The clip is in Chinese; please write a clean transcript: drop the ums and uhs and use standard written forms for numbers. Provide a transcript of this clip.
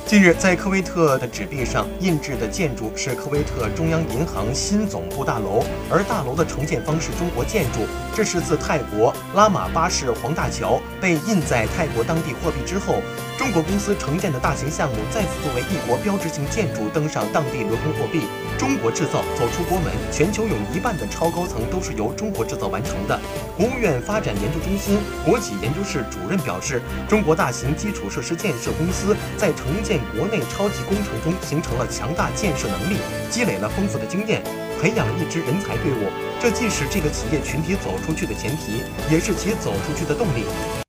近日，在科威特的纸币上印制的建筑是科威特中央银行新总部大楼，而大楼的承建方是中国建筑。这是自泰国拉玛巴士黄大桥被印在泰国当地货币之后，中国公司承建的大型项目再次作为一国标志性建筑登上当地轮换货币。中国制造走出国门，全球有1半的超高层都是由中国制造完成的。国务院发展研究中心国企研究室主任表示，中国大型基础设施建设公司在承建国内超级工程中形成了强大建设能力，积累了丰富的经验，培养了一支人才队伍。这既是这个企业群体走出去的前提，也是其走出去的动力。